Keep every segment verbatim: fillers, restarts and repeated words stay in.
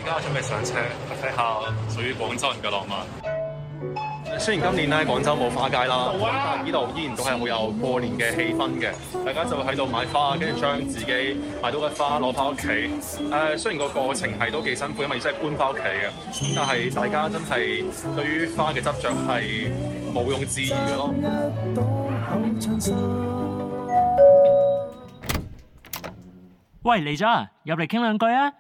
而家我準備上車睇下屬於廣州人嘅浪漫。 雖然今年咧廣州冇花街啦，但係呢度依然都係好有過年嘅氣氛嘅。大家就會喺度買花，跟住將自己買到嘅花攞翻屋企。誒、呃，雖然個過程係都幾辛苦，因為真係搬翻屋企嘅，但係大家真係對於花嘅執着係毋庸置疑嘅咯。 喂，嚟咗啊！入嚟傾兩句啊！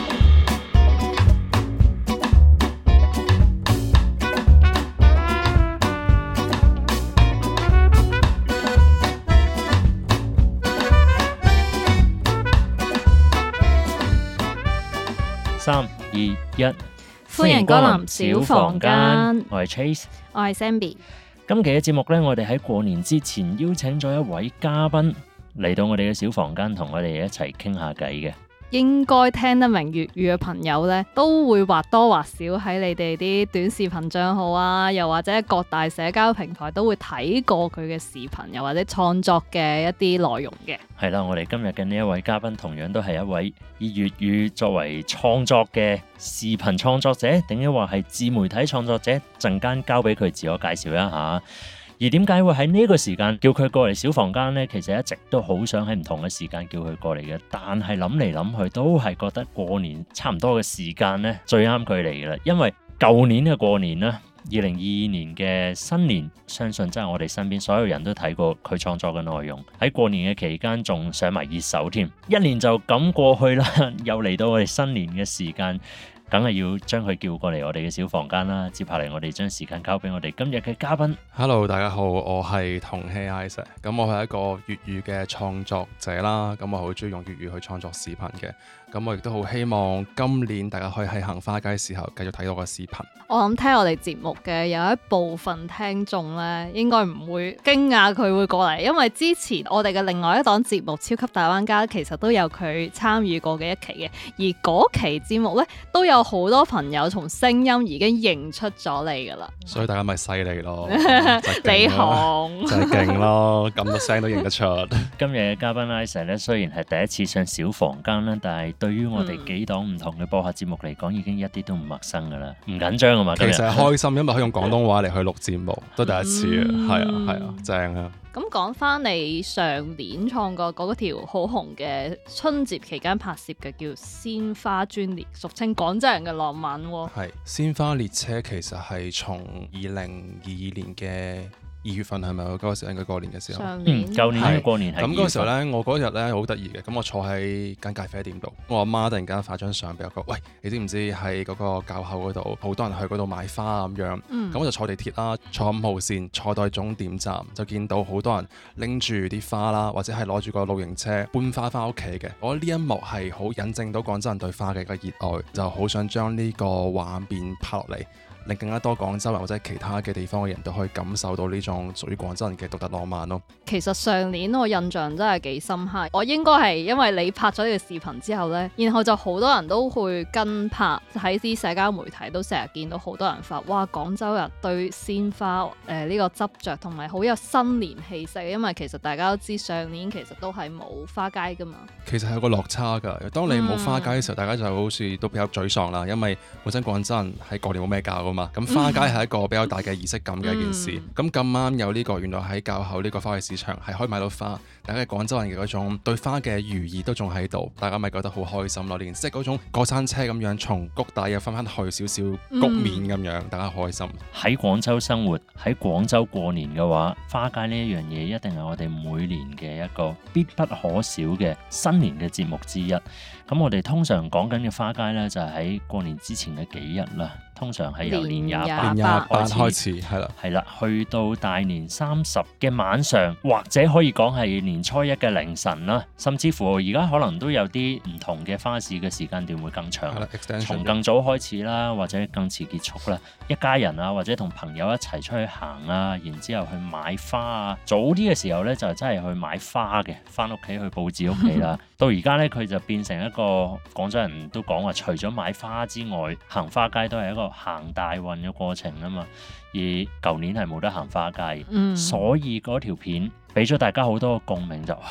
三二一， 歡迎光臨小房間。 我係 Trace， 我係 Zenbi。 今期嘅節目呢，我哋喺過年之前邀請咗一位嘉賓嚟到我哋嘅小房間，同我哋一齊傾下偈嘅。 應該聽得明粵語嘅朋友呢，都會或多或少喺你哋啲短視頻帳號啊，又或者各大社交平台都會睇過佢嘅視頻，又或者創作嘅一啲內容嘅。 係啦，我哋今日嘅呢一位嘉賓同樣都係一位以粵語作為創作嘅視頻創作者，定抑或係自媒體創作者？陣間交俾佢自我介紹一下。而點解會喺呢個時間叫佢過嚟小房間呢？其實一直都好想喺唔同嘅時間叫佢過嚟嘅，但係諗嚟諗去都係覺得過年差唔多嘅時間呢最啱佢嚟嘅啦。因為舊年嘅過年啦，二零二二年嘅新年，相信真係我哋身邊所有人都睇過佢創作嘅內容。喺過年嘅期間仲上埋熱搜添，一年就咁過去啦，又嚟到我哋新年嘅時間。梗係要將佢叫過嚟我哋嘅小房間啦。接下嚟我哋將時間交俾我哋今日嘅嘉賓。 Hello， 大家好，我係同希 Isaac。咁我係一個粵語嘅創作者啦。咁我好中意用粵語去創作視頻嘅。咁我亦都好希望今年大家可以喺行花街時候繼續睇到個視頻。 我諗聽我哋節目嘅有一部分聽眾咧，應該唔會驚訝佢會過嚟，因為之前我哋嘅另外一檔節目《超級大灣家》其實都有佢參與過嘅一期嘅，而嗰期節目咧都有好多朋友從聲音已經認出咗你噶啦。 所以大家咪犀利咯， 你紅就係勁咯，咁多聲都認得出。 今日嘅嘉賓 Isaac 咧，雖然係第一次上小房間啦，但係對於我哋幾檔唔同嘅播客節目嚟講，已經一啲都唔陌生噶啦，唔緊張啊嘛。 其實係開心，因為可以用廣東話嚟去錄節目，都第一次啊，係、嗯、啊係啊，正啊！ 咁講翻你上年創作嗰條好紅嘅春節期間拍攝嘅叫《鮮花專列》，俗稱廣州人嘅浪漫喎。 係鮮花列車，其實係從二零二二年嘅二月份係咪？嗰個時候應該過年嘅時候。 上年。 嗯，舊年嘅過年係。 咁嗰個時候咧，我嗰日咧好得意嘅。咁我坐喺間咖啡店度，我阿媽突然間發張相俾我講：喂，你知唔知喺嗰個滘口嗰度，好多人去嗰度買花咁樣。咁、嗯、我就坐地鐵啦，坐五號線，坐到終點站，就見到好多人拎住啲花啦，或者係攞住個露營車搬花翻屋企嘅。我覺得呢一幕係好引證到廣州人對花嘅一個熱愛，就好想將呢個畫面拍落嚟，令更加多廣州人或者其他嘅地方嘅人都可以感受到呢種屬於廣州人嘅獨特浪漫咯。 其實上年我印象真係幾深刻，我應該係因為你拍咗呢個視頻之後呢，然後就好多人都會跟拍，喺啲社交媒體都成日見到好多人發，哇！廣州人對鮮花誒呢、呃這個執着同埋好有新年氣息，因為其實大家都知上年其實都係冇花街噶嘛。 其實係有個落差㗎，當你冇花街嘅時候，嗯、大家就好似都比較沮喪啦，因為本身廣州人喺過年冇咩搞。咁花街係一個比較大嘅儀式感嘅一件事。咁咁啱有呢個，原來喺滘口呢個花卉市場係可以買到花，大家廣州人嘅嗰種對花嘅寓意都仲喺度，大家咪覺得好開心咯。呢件事即係嗰種過山車咁樣，從谷底又翻翻去少少谷面咁樣，嗯、大家開心。喺廣州生活，喺廣州過年嘅話，花街呢一樣嘢一定係我哋每年嘅一個必不可少嘅新年嘅節目之一。咁我哋通常講緊嘅花街呢，就係喺過年之前嘅幾日啦。通常係由年廿八開始，係啦， 係啦，去到大年三十嘅晚上，或者可以講係年初一嘅凌晨啦，甚至乎而家可能都有啲唔同嘅花市嘅時間段會更長，從更早開始啦，或者更遲結束啦。一家人啊，或者同朋友一齊出去行啊，然之後去買花啊。早啲嘅時候咧，就真係去買花嘅，翻屋企去佈置屋企啦。到而家咧，佢就變成一個廣州人都講話，除咗買花之外，行花街都係一個行大運嘅過程啊嘛。而舊年係冇得行花街，嗯、所以嗰條片俾咗大家好多共鳴，就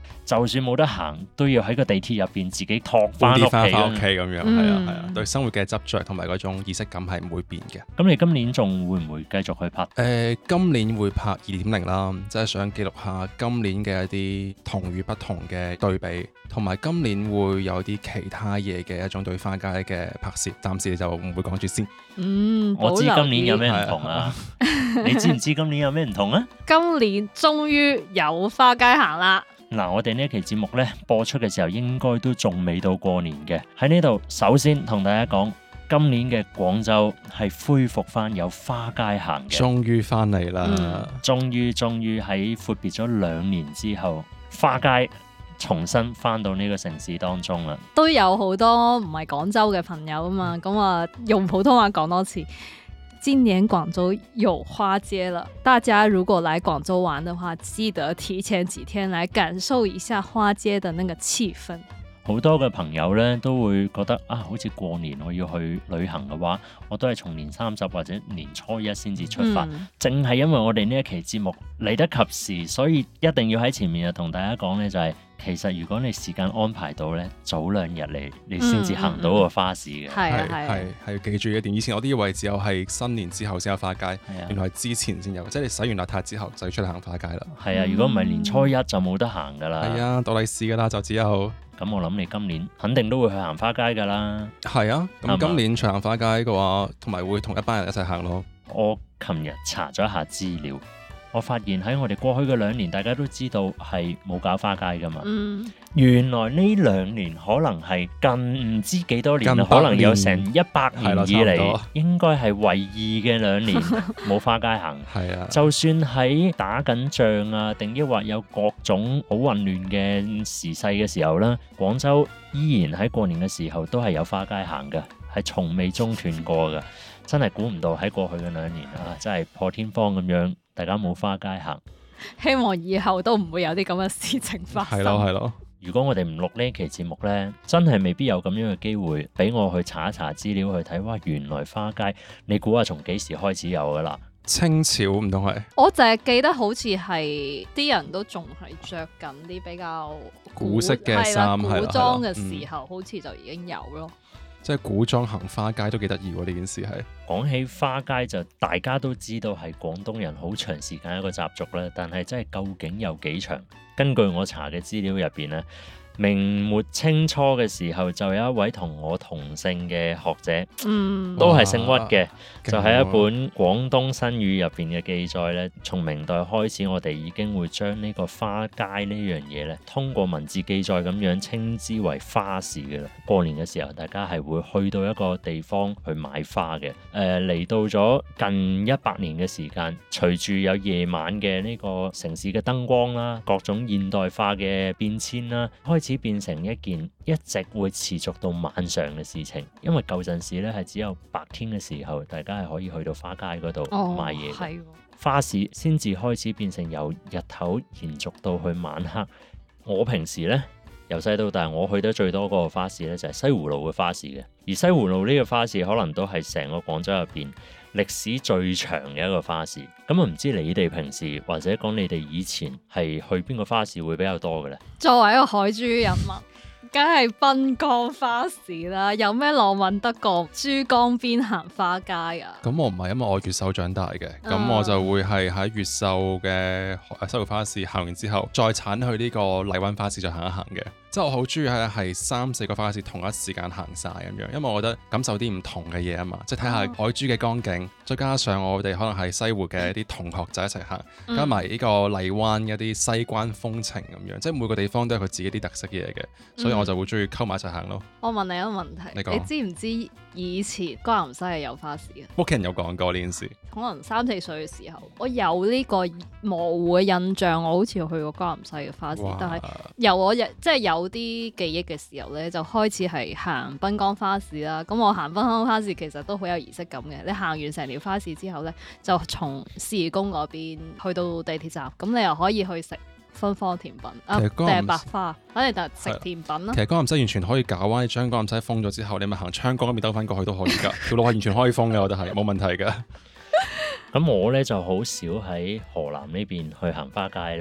就算冇得行，都要喺個地鐵入邊自己托翻屋企翻屋企咁樣，係啊係啊， 嗯對生活嘅執着同埋嗰種儀式感係唔會變嘅。 咁你今年仲會唔會繼續去拍？ 誒、呃，今年會拍二點零啦，即係想記錄下今年嘅一啲同與不同嘅對比，同埋今年會有啲其他嘢嘅一種對花街嘅拍攝，暫時就唔會講住先。 嗯， 我知今年有咩保留啲唔同啊？你知唔知今年有咩唔同啊？ 今年終於有花街行啦！ 嗱，我哋呢一期節目呢，播出嘅時候應該都仲未到過年嘅。喺呢度首先同大家講，今年嘅廣州係恢復翻有花街行嘅， 終於翻嚟啦！ 嗯終於終於喺闊別咗兩年之後，花街重新翻到呢個城市當中啦。 都有好多唔係廣州嘅朋友啊嘛，咁啊用普通話講多次。今年廣州有花街了，大家如果來廣州玩的話，記得提前幾天來感受一下花街的那個氣氛。 好多嘅朋友咧都會覺得啊，好似過年我要去旅行嘅話，我都係從年三十或者年初一先至出發。 嗯正係因為我哋呢一期節目嚟得及時，所以一定要喺前面就同大家講咧，就係、是、其實如果你時間安排到咧，早兩日嚟，你先至行到個花市嘅。 係啊係係啊係係記住一點，以前我都以為只有係新年之後先有花街， 係啊原來係之前先有，即係你洗完邋遢之後就要出嚟行花街啦。 係啊，如果唔係年初一就冇得行噶啦。 係啊，倒利是噶啦，就只有咁我諗你今年肯定都會去行花街噶啦。 係啊。 啱啊咁今年長行花街嘅話，同埋會同一班人一齊行咯。 我琴日查咗一下資料，我發現喺我哋過去嘅兩年，大家都知道係冇搞花街噶嘛。 嗯， 原來呢兩年可能係近唔知幾多年啦， 近百可能有成一百年係啦以嚟差唔多， 應該係唯二嘅兩年冇花街行。 係啊， 就算喺打緊仗啊，定抑或有各種好混亂嘅時勢嘅時候啦，廣州依然喺過年嘅時候都係有花街行嘅，係從未中斷過嘅。真係估唔到喺過去嘅兩年啊，真係破天荒咁樣，大家冇花街行。 希望以後都唔會有啲咁嘅事情發生。 係咯係咯。 如果我哋唔錄呢期節目呢，真係未必有咁樣嘅機會俾我去查一查資料去睇。哇，原來花街，你估下從幾時開始有噶啦？ 清朝唔通係我淨係記得好似係啲人都仲係着緊啲比較古式嘅係啦衫係啦古裝嘅係啦時候，好似就已經有咯。 即係古裝行花街都幾得意喎！呢件事係講起花街就大家都知道係廣東人好長時間一個習俗啦，但係真係究竟有幾長？根據我查嘅資料入邊呢，明末清初嘅時候就有一位同我同姓嘅學者， 嗯， 都係姓屈嘅，就係一勁喎本廣東新語入邊嘅記載咧。從明代開始，我哋已經會將呢個花街呢樣嘢咧，通過文字記載咁樣稱之為花市嘅啦。過年嘅時候，大家係會去到一個地方去買花嘅。誒、呃，嚟到咗近一百年嘅時間，隨住有夜晚嘅呢個城市嘅燈光啦，各種現代化嘅變遷啦，開始變成一件一直會持續到晚上嘅事情。因為舊陣時咧係只有白天嘅時候，大家係可以去到花街嗰度哦買嘢嘅。 係喎花市先至開始變成由日頭延續到去晚黑。我平時呢，由細到大，我去得最多嗰個花市呢，就係西湖路嘅花市嘅。而西湖路呢個花市可能都係成個廣州入邊歷史最長嘅一個花市。咁啊，唔知你哋平時或者講你哋以前係去邊個花市會比較多嘅呢？ 作為一個海珠人民，梗係濱江花市啦。有咩浪漫得過珠江邊行花街啊？ 咁我唔係，因為我越秀長大嘅，咁、 啊我就會係喺越秀嘅西湖花市行完之後，再鏟去呢個荔灣花市再行一行嘅。即係我好中意係係三四個花市同一時間行晒咁樣，因為我覺得感受啲唔同嘅嘢啊嘛，即係睇下海珠嘅光景，再加上我哋可能係西湖嘅一啲同學仔一齊行， 嗯加埋呢個荔灣一啲西關風情咁樣，即係每個地方都有佢自己啲特色嘢嘅，所以我就會中意溝埋一齊行咯。 我問你一個問題， 你講你知唔知以前江南西係有花市嘅？ 屋企人有講過呢件事， 可能三四歲嘅時候，我有呢個模糊嘅印象，我好似去過江南西嘅花市， 哇但係由我日即係有啲記憶嘅時候咧，就開始係行濱江花市啦。咁我行濱江花市其實都好有儀式感嘅。你行完成條花市之後咧，就從市義宮嗰邊去到地鐵站，咁你又可以去食芬芳甜品啊，定其實江南係百花，反正就食甜品啦其。實江南西完全可以搞啊！你將江南西封咗之後，你咪行昌江嗰邊兜翻過去都可以㗎，條路係完全可以封嘅，我覺得係冇問題㗎。 咁我咧就好少喺河南呢邊去行花街啦。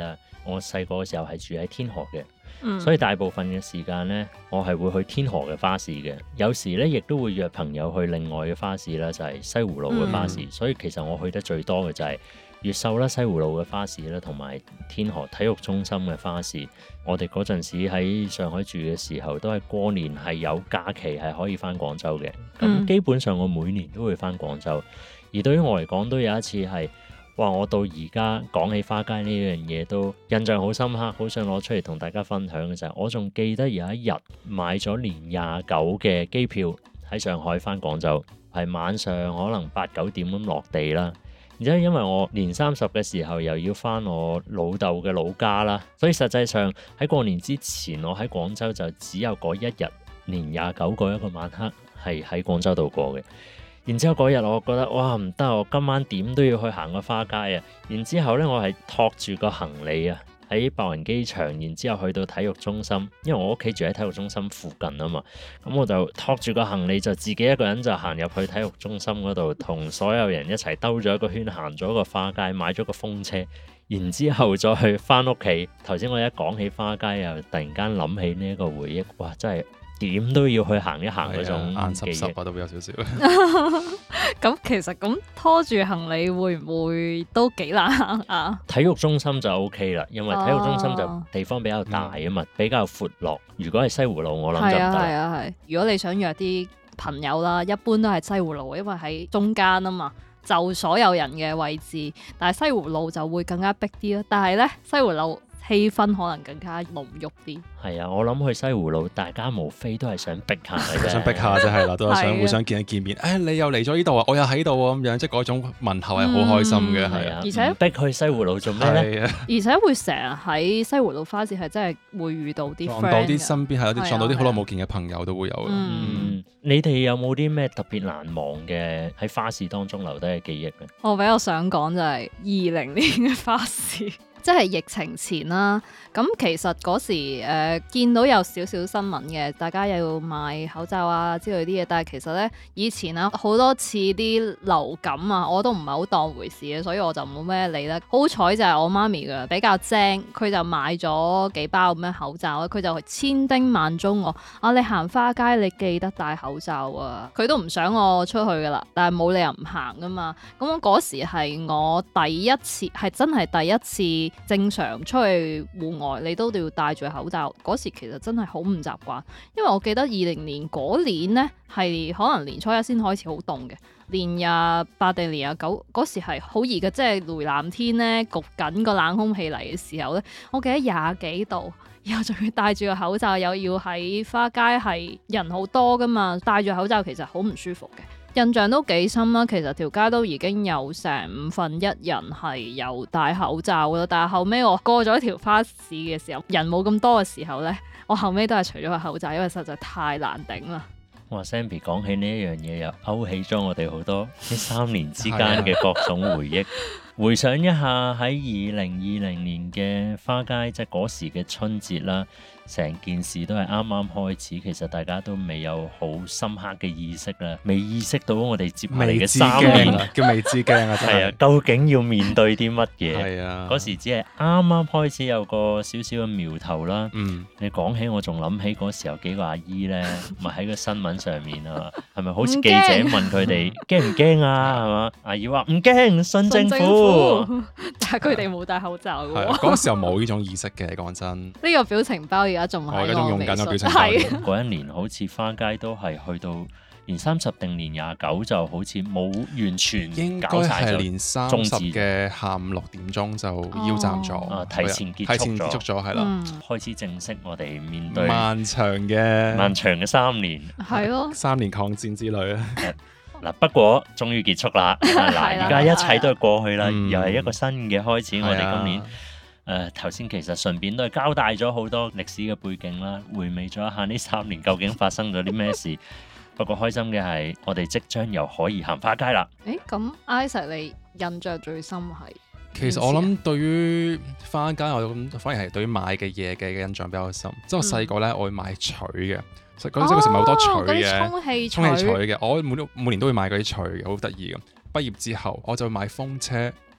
我細個嘅時候係住喺天河嘅。 嗯、 所以大部分嘅時間呢，我係會去天河嘅花市嘅。有時呢，亦都會約朋友去另外嘅花市啦，就係、是、西湖路嘅花市。嗯、所以其實我去得最多嘅就係越秀啦、西湖路嘅花市啦，同埋天河體育中心嘅花市。我哋嗰陣時喺上海住嘅時候，都係過年係有假期係可以返廣州嘅。咁基本上我每年都會返廣州。而對於我嚟講，都有一次係。哇！我到而家講起花街呢樣嘢都印象好深刻，好想攞出嚟同大家分享嘅就係，我仲記得有一日買咗年廿九嘅機票喺上海返廣州，係晚上可能八九點咁落地啦。然之後因為我年三十嘅時候又要返我老豆嘅老家啦，所以實際上喺過年之前，我喺廣州就只有嗰一日年廿九嗰一個晚黑係喺廣州度過嘅。然之後嗰日我覺得哇唔得，我今晚點都要去行個花街啊！然之後咧我係托住個行李啊喺白雲機場，然之後去到體育中心，因為我屋企住喺體育中心附近啊嘛，咁我就托住個行李就自己一個人就行入去體育中心嗰度，同所有人一齊兜咗一個圈，行咗個花街，買咗個風車，然之後再去翻屋企。頭先我一講起花街又突然間諗起呢一個回憶，哇真係〜點都要去行一行嗰種眼濕濕啊，都會有少少。 咁其實咁拖住行李會唔會都幾難行啊？ 體育中心就 O K 啦，因為體育中心就地方比較大啊嘛，哦、比較闊落。如果係西湖路，我諗就唔得。係啊係啊係。 如果你想約啲朋友啦，一般都係西湖路，因為喺中間啊嘛，就所有人嘅位置。但係西湖路就會更加逼啲咯。但係咧，西湖路氣氛可能更加濃郁啲。係啊，我諗去西湖路，大家無非都係想逼下嘅啫， 想逼下啫係啦，都係想互相見一見面。誒、哎，你又嚟咗呢度啊，我又喺度啊，咁樣即係嗰種問候係好開心嘅，係、嗯、啊。 而且逼去西湖路做咩咧？ 啊、而且會成日喺西湖路花市係真係會遇到啲撞到啲身邊係有啲撞到啲好耐冇見嘅朋友都會有嘅。 嗯，嗯你哋有冇啲咩特別難忘嘅喺花市當中留低嘅記憶咧？ 我比較想講就係二零年嘅花市。即係疫情前啦，咁其實嗰時誒、呃、見到有少少新聞嘅，大家又要買口罩啊之類啲嘢，但係其實咧以前啊好多次啲流感啊，我都唔係好當回事嘅，所以我就冇咩理啦。好彩就係我媽咪嘅比較精，佢就買咗幾包咁樣口罩，佢就千叮萬囑我啊，你行花街你記得戴口罩啊。佢都唔想我出去噶啦，但係冇理由唔行噶嘛。咁我嗰時係我第一次，係真係第一次。正常出去戶外你都要戴住口罩，嗰時其實真係好唔習慣，因為我記得二零年嗰年呢，係可能年初一先開始好凍嘅，年廿八定年廿九嗰時係好熱嘅，即係雷南天呢，焗緊個冷空氣嚟嘅時候呢，我記得廿幾度，然後仲要戴住個口罩，又要喺花街係人好多噶嘛，戴住口罩其實好唔舒服嘅。印象都幾深啦，其實條街都已經有成五分一人係有戴口罩咯，但係後尾我過咗條花市嘅時候，人冇咁多嘅時候呢，我後尾都係除咗個口罩，因為實在太難頂啦。 哇 Zenbi 講起呢一樣嘢，又勾起咗我哋好多呢三年之間嘅各種回憶。回想一下喺二零二零年嘅花街，即係嗰時嘅春節啦，成件事都係啱啱開始，其實大家都未有好深刻嘅意識啦，未意識到我哋接下嚟嘅三年叫未知驚啊！真係啊，究竟要面對啲乜嘢？ 係啊， 嗰時只係啱啱開始有個少少嘅苗頭啦。 嗯， 你講起我仲諗起嗰時有幾個阿姨咧，咪喺個新聞上面啊，係咪好似記者問佢哋驚唔驚啊？係嘛？阿姨話唔驚，信政府。 但係佢哋冇戴口罩嘅喎。 嗰時候冇呢種意識嘅，講真。呢個表情包而家仲係我用緊個表情包。 嗰一年好似花街都係去到年三十定年廿九，就好似冇完全搞晒咗。應該係年三十嘅下午六點鐘就腰斬咗， 哦、 提前結束咗， 提前結束咗係啦， 嗯、開始正式我哋面對漫長嘅漫長嘅三年。 係咯， 三年抗戰之旅啊！ 嗱，不過終於結束啦！嗱，而家一切都係過去啦， 嗯、 又係一個新嘅開始。 嗯、 我哋今年誒頭先其實順便都係交代咗好多歷史嘅背景啦，回味咗一下呢三年究竟發生咗啲咩事。不過開心嘅係，我哋即將又可以行花街啦！ 誒，咁 Isaac 你印象最深係？ 其實我諗對於花街，我咁反而係對於買嘅嘢嘅印象比較深。即係、嗯、我細個咧，我會買錘嘅。嗰陣時嗰時咪好多錘嘅， 充氣錘嘅，我每每年都會買嗰啲錘嘅，好得意嘅。畢業之後我就買風車，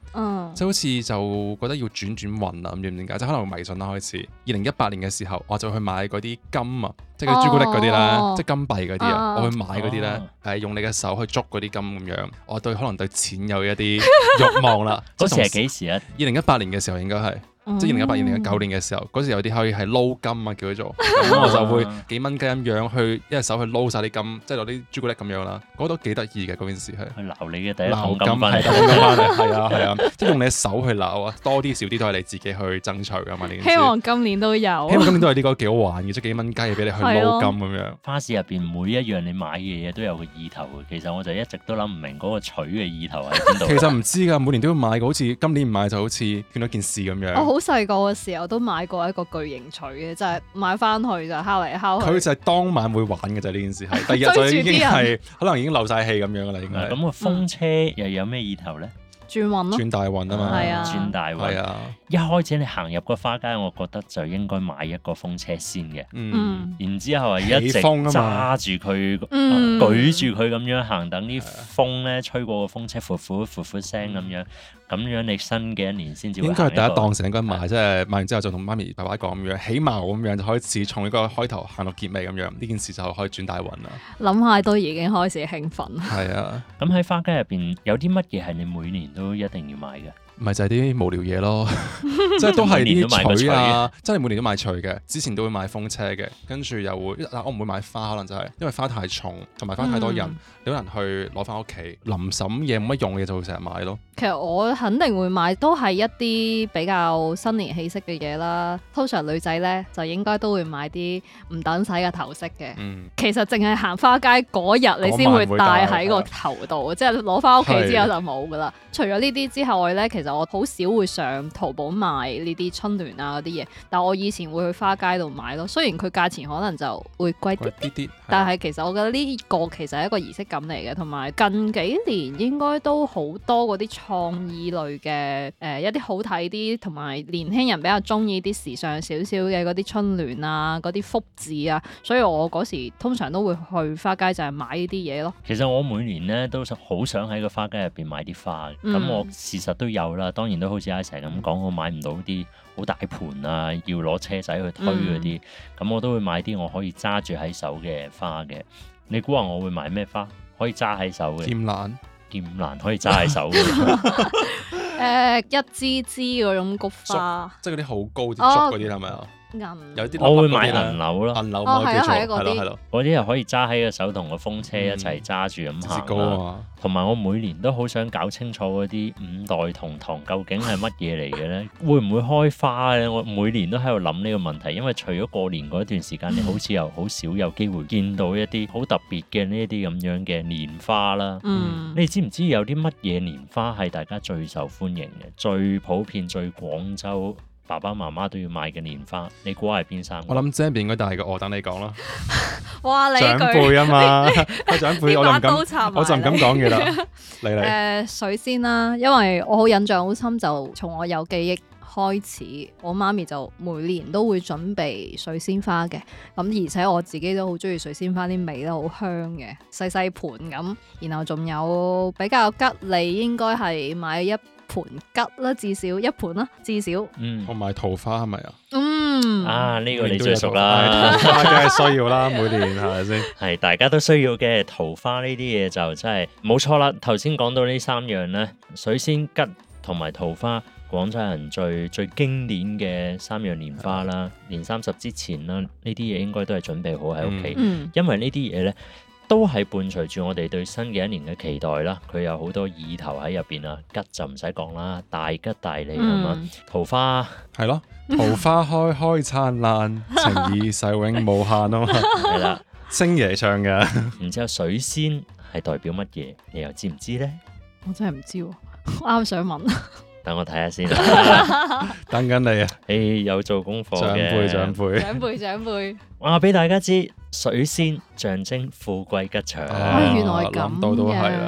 嗯， 即係好似就覺得要轉轉運啊，唔知點解，即係可能迷信啦開始。二零一八年嘅時候，我就去買嗰啲金啊，即係嗰啲朱古力嗰啲咧， 哦即係金幣嗰啲啊， 哦我去買嗰啲咧， 哦係用你嘅手去捉嗰啲金咁樣。我對可能對錢有一啲慾望啦。 嗰時係幾時啊？ 二零一八年嘅時候應該係。即係二零一八、二零一九年嘅時候，嗰時有啲可以係撈金啊，叫佢做，咁我就會幾蚊雞咁樣去一隻手去撈晒啲金，即係攞啲朱古力咁樣啦，嗰都幾得意嘅嗰件事係。 去撈你嘅第一撈金桶金翻係嚟， 撈金翻嚟，係啊係啊，即係用你嘅手去撈啊，多啲少啲都係你自己去爭取噶嘛呢件事。 希望今年都有。 希望今年都係呢個幾好玩嘅，即係幾蚊雞俾你去撈金咁樣。 花市入邊每一樣你買嘅嘢都有個意頭嘅，其實我就一直都諗唔明嗰個取嘅意頭喺邊度。 其實唔知㗎，每年都要買嘅，好似今年唔買就好似見到件事咁樣。 我好細個嘅時候都買過一個巨型錘嘅，就係買翻去就敲嚟敲去。 佢就係當晚會玩嘅啫，呢件事係第二日就已經係可能已經漏晒氣咁樣㗎啦，應該係。 咁個風車又有咩意頭咧？ 轉運咯， 轉大運啊嘛， 係啊轉大運。 係啊， 一開始你行入個花街，我覺得就應該買一個風車先嘅。 嗯， 嗯， 然之後係一直起風啊嘛揸住佢， 嗯舉住佢咁樣行，等啲風咧吹過個風車，呼呼呼呼聲咁樣，咁樣你新嘅一年先至會應該係第一行個檔成應該買，即係買完之後就同媽咪爸爸講咁樣，起碼咁樣就開始從呢個開頭行到結尾咁樣，呢件事就可以轉大運啦。 諗下都已經開始興奮。 係啊， 咁喺花街入邊有啲乜嘢係你每年都一定要買嘅？ 咪就係啲無聊嘢咯，即係都係每年都買個啲錘啊，真係每年都買錘嘅。之前都會買風車嘅，跟住又會嗱，我唔會買花，可能就係因為花太重，同埋花太多人， 嗯有人去攞翻屋企，臨審嘢冇乜用嘅就會成日買咯。 其實我肯定會買，都係一啲比較新年氣息嘅嘢啦。通常女仔咧就應該都會買啲唔等使嘅頭飾嘅。 嗯， 其實淨係行花街嗰日你先會戴喺個頭度，即係攞翻屋企之後就冇噶啦。除咗呢啲之外咧，其實我好少會上淘寶買呢啲春聯啊嗰啲嘢，但我以前會去花街度買咯。雖然佢價錢可能就會貴啲貴啲啲， 但係其實我覺得呢個其實係一個儀式感嚟嘅，同埋近幾年應該都好多嗰啲創意類嘅誒、呃、一啲好睇啲，同埋年輕人比較中意啲時尚少少嘅嗰啲春聯啊、嗰啲福字啊，所以我嗰時通常都會去花街就係買呢啲嘢咯。 其實我每年咧都好想喺個花街入邊買啲花嘅，咁、 嗯、 我事實都有啦。當然都好似阿成咁講，我買唔到啲好大盤啊，要攞車仔去推嗰啲，咁、嗯、我都會買啲我可以揸住喺手嘅花嘅。你估下我會買咩花？可以揸喺手嘅？ 劍蘭。 劍蘭可以揸喺手嘅。 誒一支支嗰種菊花， 即係嗰啲好高啲竹嗰啲係咪啊？ 銀有啲我會買銀柳咯， 銀柳哦咪叫做係啊係啊嗰啲係咯係咯， 嗰啲又可以揸喺個手同個風車一齊揸住咁節行高啊啦。 嘛。 同埋我每年都好想搞清楚嗰啲五代同堂究竟係乜嘢嚟嘅咧？會唔會開花咧？我每年都喺度諗呢個問題，因為除咗過年嗰段時間，你好似又好少有機會見到一啲好特別嘅呢啲咁樣嘅年花啦。 嗯， 你哋知唔知有啲乜嘢年花係大家最受歡迎嘅、最普遍、最廣州爸爸媽媽都要買嘅年花？你估係邊三個？ 我諗這邊應該大嘅，我等你講啦。 哇！你長句輩啊嘛，個長輩我就唔呢把刀敢， 插埋我就唔敢講嘢啦。嚟嚟， 誒水仙啦，因為我好印象好深，就從我有記憶開始，我媽咪就每年都會準備水仙花嘅。咁而且我自己都好中意水仙花啲味都好香嘅，細細盤咁。然後仲有比較吉利，應該係買一盤桔啦，至少一盤啦，至少。 嗯同埋桃花係咪啊？ 嗯， 啊，呢、這個你每年都有最熟桃花啦。 桃花梗係需要啦，每年係咪先？ 係大家都需要嘅桃花呢啲嘢就真係冇錯啦。頭先講到呢三樣咧，水仙、桔同埋桃花，廣州人最最經典嘅三樣年花啦。年三十之前啦，呢啲嘢應該都係準備好喺屋企， 嗯， 因為呢啲嘢咧都係伴隨住我哋對新嘅一年嘅期待啦。佢有好多意頭喺入邊啊，桔就唔使講啦，大吉大利係嘛、 嗯， 桃花係咯，桃花開開燦爛，情意世永無限啊嘛。 係啦， 星爺唱嘅， 然之後水仙係代表乜嘢？你又知唔知咧？ 我真係唔知喎，我啱想問。 等我睇下先啦。 等緊你啊！ 誒，有做功課長嘅輩長輩， 長輩長輩， 話俾大家知，水仙象徵富貴吉祥。 啊原來咁諗到都係啦係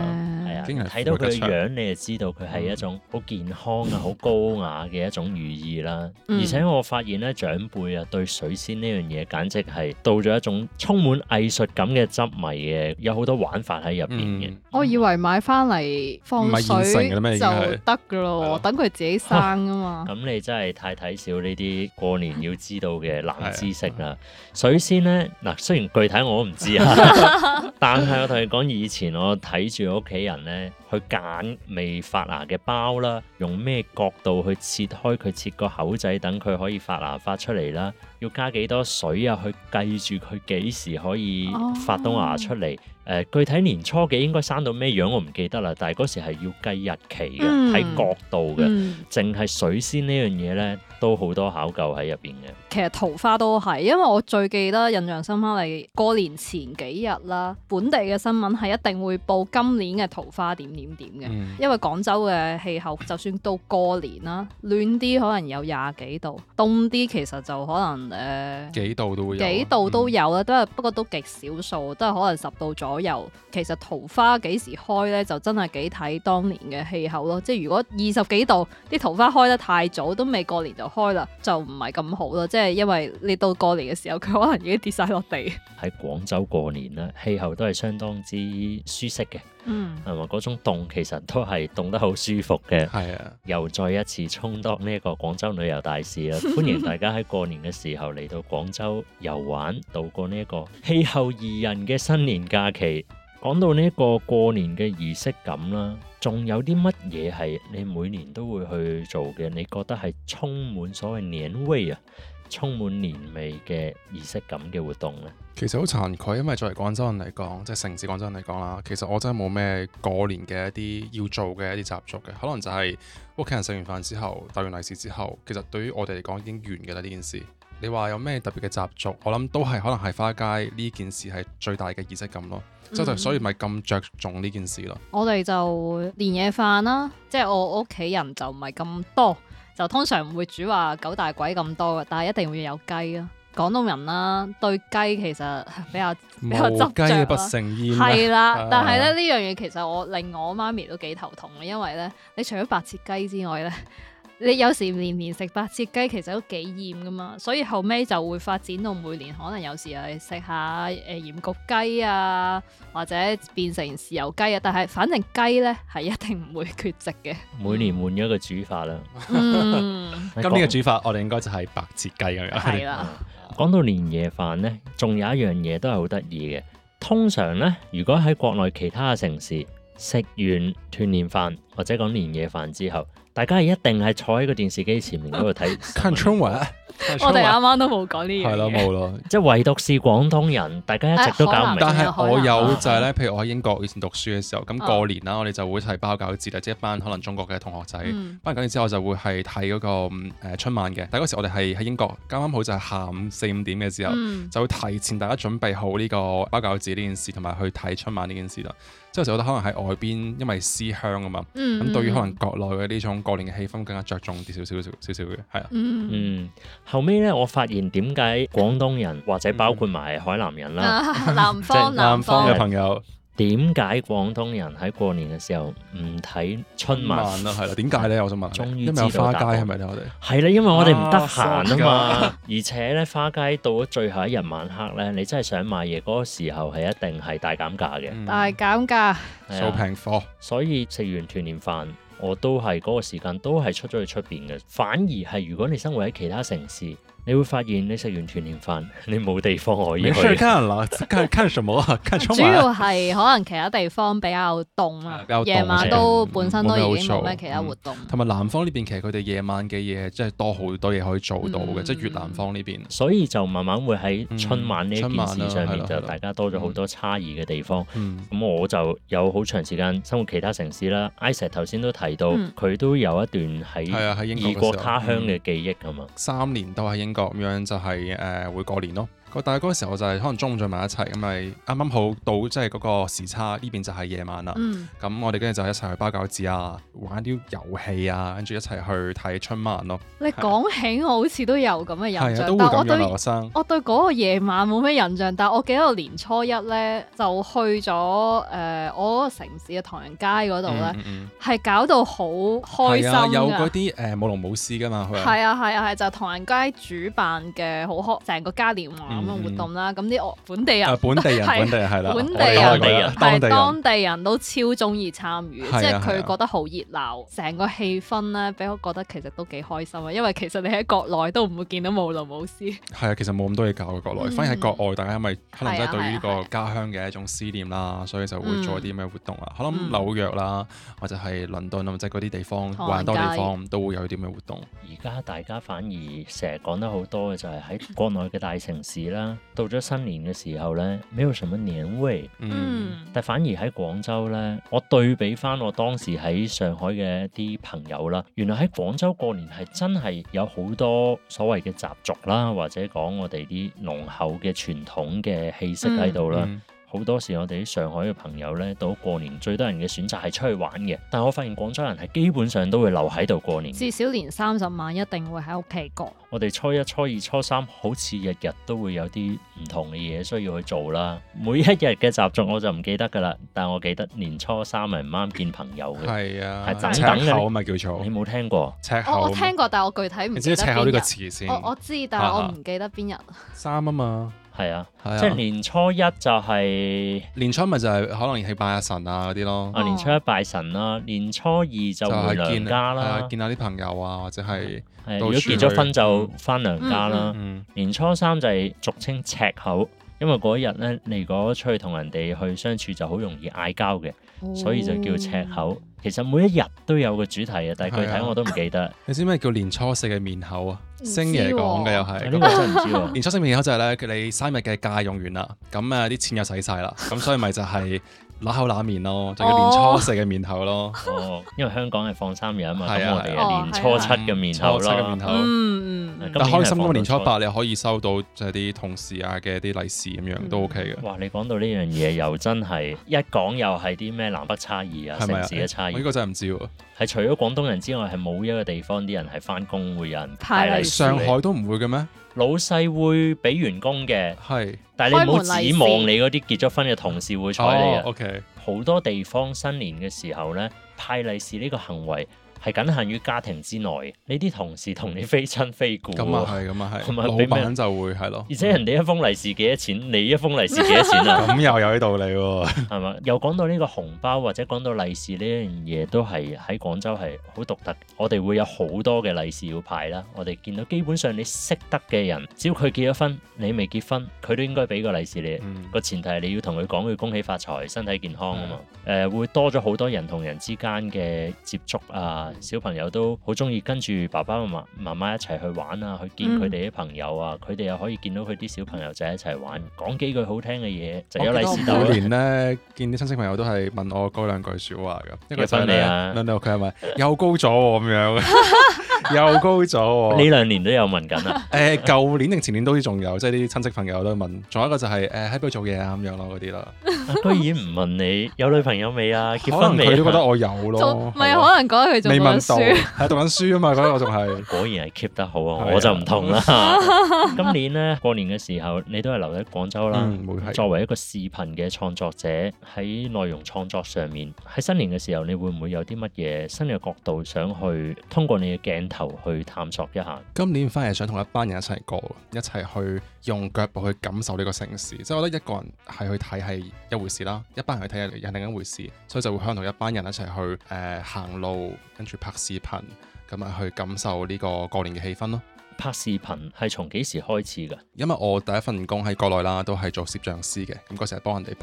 係啊， 竟然睇到佢嘅嘅樣，你就知道佢係一種好健康啊、好高雅嘅一種寓意啦。 嗯而且我發現咧，長輩啊對水仙呢樣嘢，簡直係到咗一種充滿藝術感嘅執迷嘅，有好多玩法喺入邊嘅。 嗯我以為買翻嚟放唔係現成水嘅咩已就經係得噶咯，等佢自己生啊嘛。 咁你真係太睇少呢啲過年要知道嘅冷知識啦。水仙呢，嗱，雖然具體我都唔知啊，但係我同你講，以前我睇住屋企人呢，去揀未發芽嘅苞啦，用咩角度去切開佢，切個口仔，等佢可以發芽發出嚟啦。要加幾多水啊？去計住佢幾時可以發到芽出嚟。誒、哦呃，具體年初幾應該生到咩樣我唔記得啦。但係嗰時係要計日期嘅，睇、嗯、角度嘅。淨係、嗯、水仙呢樣嘢咧，都好多考究喺入邊嘅。 其實桃花都係，因為我最記得印象深刻係過年前幾日啦，本地嘅新聞係一定會報今年嘅桃花點點點嘅。嗯、因為廣州嘅氣候，就算到過年啦，暖啲可能有廿幾度，凍啲其實就可能誒、呃、 幾度都會有， 幾度都有啦，都係、嗯、不過都極少數，都係可能十度左右。其實桃花幾時開咧，就真係幾睇當年嘅氣候咯。即係如果二十幾度，啲桃花開得太早，都未過年就開啦，就唔係咁好咯。即係因為你到過年嘅時候，佢可能已經跌晒落地。 喺廣州過年咧，氣候都係相當之舒適嘅。嗯，係嘛？嗰種凍其實都係凍得好舒服嘅。係啊，又再一次充當呢一個廣州旅遊大使啦！歡迎大家喺過年嘅時候嚟到廣州遊玩，度過呢一個氣候宜人嘅新年假期。講到呢一個過年嘅儀式感啦，仲有啲乜嘢係你每年都會去做嘅？你覺得係充滿所謂年味啊，充滿年味嘅儀式感嘅活動呢？ 其實好慚愧，因為作為廣州人嚟講，即係城市廣州人嚟講啦，其實我真係冇咩過年嘅一啲要做嘅一啲習俗嘅，可能就係屋企人食完飯之後，帶完利是之後，其實對於我哋嚟講已經完嘅啦呢件事。你話有咩特別嘅習俗？我諗都係可能係花街呢件事係最大嘅儀式感咯，即係、嗯、所以咪咁着重呢件事咯。 我哋就年夜飯啦，即係我屋企人就唔係咁多，就通常唔會煮話九大簋咁多嘅，但係一定會有雞咯。廣東人啦，對雞其實比較比較執着啦。無雞不成宴。係啦，但係咧呢樣嘢其實我令我媽咪都幾頭痛嘅，因為咧你除咗白切雞之外咧，你有時年年食白切雞其實都幾厭噶嘛，所以後尾就會發展到每年可能有時係食下誒鹽焗雞啊，或者變成豉油雞啊，但係反正雞咧係一定唔會缺席嘅。 每年換咗一個煮法啦。 嗯， 今年嘅煮法我哋應該就係白切雞咁樣。 係啦。 講到年夜飯呢，仲有一樣嘢都係好得意嘅。通常呢，如果喺國內其他嘅城市食完團年飯或者講年夜飯之後，大家係一定係坐喺個電視機前面嗰度睇看春晚。 我哋啱啱都冇講呢樣嘢， 係咯冇咯， 即係唯獨是廣東人，大家一直都搞唔明。 但係我有就係咧，譬如我喺英國以前讀書嘅時候，咁過年啦，我哋就會係包餃子啦，即係一班可能中國嘅同學仔，包完餃子之後就會係睇嗰個誒春晚嘅。但係嗰時我哋係喺英國，啱啱好就係下午四五點嘅時候，就會提前大家準備好呢個包餃子呢件事，同埋去睇春晚呢件事啦。即係有時我覺得可能喺外邊，因為思鄉啊嘛，咁對於可能國內嘅呢種過年嘅氣氛更加着重啲少少少少少嘅，係啊。 嗯，後尾咧，我發現點解廣東人或者包括埋海南人啦， 南方南方嘅朋友， 點解廣東人喺過年嘅時候唔睇春晚啦？係啦，點解咧？我想問。終於知道。因為有花街係咪咧？我哋係啦，因為我哋唔得閒啊嘛。而且咧，花街到咗最後一日晚黑咧，你真係想買嘢嗰個時候係一定係大減價嘅。 大減價， 掃平貨。 所以食完團年飯，我都係嗰個時間都係出咗去出邊嘅。反而係如果你生活喺其他城市，你會發現你食完團年飯，你冇地方可以去。 沒事看啦，看看什麼啊？看春晚。主要係可能其他地方比較凍啊，夜晚都本身都已經冇咩其他活動。 同埋南方呢邊其實佢哋夜晚嘅嘢即係多好多嘢可以做到嘅，即係越南方呢邊。 所以就慢慢會喺春晚呢一件事上面就大家多咗好多差異嘅地方。咁我就有好長時間生活其他城市啦。Isaac 頭先都提到佢都有一段喺異國他鄉嘅記憶㗎嘛。 三年都喺英國咁樣就係誒會過年咯， 但係嗰個時候就係可能中午聚埋一齊，咁咪啱啱好到即係嗰個時差，呢邊就係夜晚啦。咁、嗯、我哋跟住就一齊去包餃子啊，玩啲遊戲啊，跟住一齊去睇春晚咯。 你講起我好似都有咁嘅印象， 係啊，都會咁樣留學生。 我對嗰個夜晚冇咩印象，但係我記得我年初一咧就去咗誒、呃、我嗰個城市嘅唐人街嗰度咧，係、嗯嗯、搞到好開心、啊、有嗰啲誒舞龍舞獅噶嘛， 係啊係啊係，就係、唐人街主辦嘅好開成個嘉年華咁嘅活動啦。咁啲、嗯、本地人、啊、 本地人本地人係啦， 本地人係當地人都超中意參與，即係佢覺得好熱鬧，成個氣氛咧俾我覺得其實都幾開心啊。因為其實你喺國內都唔會見到舞龍舞獅。係啊，其實冇咁多嘢搞嘅國內，嗯、反而喺國外大家因為可能真係對於呢個家鄉嘅一種思念啦，所以就會做啲咩活動啊。可能、嗯、紐約啦，或者係倫敦啊，或者嗰啲地方，玩多地方都會有啲咩活動。 而家大家反而成日講得好多嘅就係喺國內嘅大城市啦，到咗新年嘅時候咧，沒有什麼年味。嗯，但反而喺廣州咧，我對比翻我當時喺上海嘅一啲朋友啦，原來喺廣州過年係真係有好多所謂嘅習俗啦，或者講我哋啲濃厚嘅傳統嘅氣息喺度啦。嗯好多時我哋啲上海嘅朋友咧，到過年最多人嘅選擇係出去玩嘅，但我發現廣州人係基本上都會留喺度過年， 至少年三十晚一定會喺屋企過。 我哋初一、初二、初三好似日日都會有啲唔同嘅嘢需要去做啦。每一日嘅習俗我就唔記得㗎啦，但我記得年初三係唔啱見朋友嘅。 係啊， 係等等嘅。 赤口咪叫做？ 你冇聽過？ 赤口。 我我聽過，但係我具體唔記得邊日。你知赤口呢個詞先？ 我我知，但係我唔記得邊日。 三啊嘛。 係啊，啊即係年初一就係、是、 年初咪就係可能係拜下神啊嗰啲咯。 啊，年初一拜神啦，年初二就回娘家啦， 見，見下啲朋友啊，或者係、 啊、如果結咗婚就翻娘家啦。 嗯嗯、 年初三就係俗稱赤口，因為嗰一日咧，你如果出去同人哋去相處就好容易嗌交嘅，哦、所以就叫赤口。其實每一日都有個主題嘅，但係具體我都唔記得。 你知咩叫年初四嘅面口啊？星爺講嘅又係， 呢個真係唔知喎。 年初四面口就係咧，佢你三日嘅假用完啦，咁啊啲錢又使晒啦，咁所以咪就係揦口揦面咯，就叫年初四嘅面口咯。 哦，因為香港係放三日啊嘛，咁我哋係年初七嘅面口咯。 嗯嗯。 但開心嗰個年初八你可以收到就係啲同事啊嘅啲利是咁樣都 OK 嘅。 哇！你講到呢樣嘢又真係一講又係啲咩南北差異啊，城市嘅差異。 我呢個真係唔知喎。 係除咗廣東人之外，係冇一個地方啲人係翻工會有人派利是。 上海都唔會嘅咩？ 老細會俾員工嘅， 係， 但係你唔好指望你嗰啲結咗婚嘅同事會睬你啊。 哦 OK， 好多地方新年嘅時候咧，派利是呢個行為係僅限於家庭之內，你啲同事同你非親非故。 咁啊係，咁啊係，老闆就會係咯。 而且人哋一封利是幾多錢，你一封利是幾多錢啊？ 咁又有啲道理喎。 係嘛？又講到呢個紅包或者講到利是呢樣嘢，都係喺廣州係好獨特。我哋會有好多嘅利是要派啦。我哋見到基本上你識得嘅人，只要佢結咗婚，你未結婚，佢都應該俾個利是你。個、嗯、前提係你要同佢講，佢恭喜發財、身體健康啊嘛。誒、嗯呃，會多咗好多人同人之間嘅接觸啊。小朋友都好中意跟住爸爸媽媽媽媽一齊去玩啊，去見佢哋啲朋友啊，佢哋、嗯、又可以見到佢啲小朋友仔一齊玩，講幾句好聽嘅嘢就有利是到。 每年咧見啲親戚朋友都係問我嗰兩句説話㗎，一個就係咧，佢係咪又高咗喎咁樣？又高咗喎！ 呢兩年都有問緊啊。 誒，舊年定前年都仲有，即係啲親戚朋友都問。仲有一個就係誒喺邊度做嘢啊咁樣咯，嗰啲啦。 居然唔問你有女朋友未啊？結婚未？ 佢都覺得我有咯。 唔係可能覺得佢仲讀緊書， 係讀緊書啊嘛，覺得我仲係。 果然係 keep 得好啊！我就唔同啦。今年咧過年嘅時候，你都係留喺廣州啦。作為一個視頻嘅創作者，喺內容創作上面，喺新年嘅時候，你會唔會有啲乜嘢新嘅角度想去通過你嘅鏡頭去探索一下？ 今年反而想同一班人一齊過，一齊去用腳步去感受呢個城市。即係我覺得一個人係去睇係一回事啦，一班人去睇係另一回事，所以就會可能同一班人一齊去誒、呃、行路，跟住拍視頻，咁啊去感受呢個過年嘅氣氛咯。 拍視頻係從幾時開始㗎？ 因為我第一份工喺國內啦，都係做攝像師嘅，咁嗰時係幫人哋拍，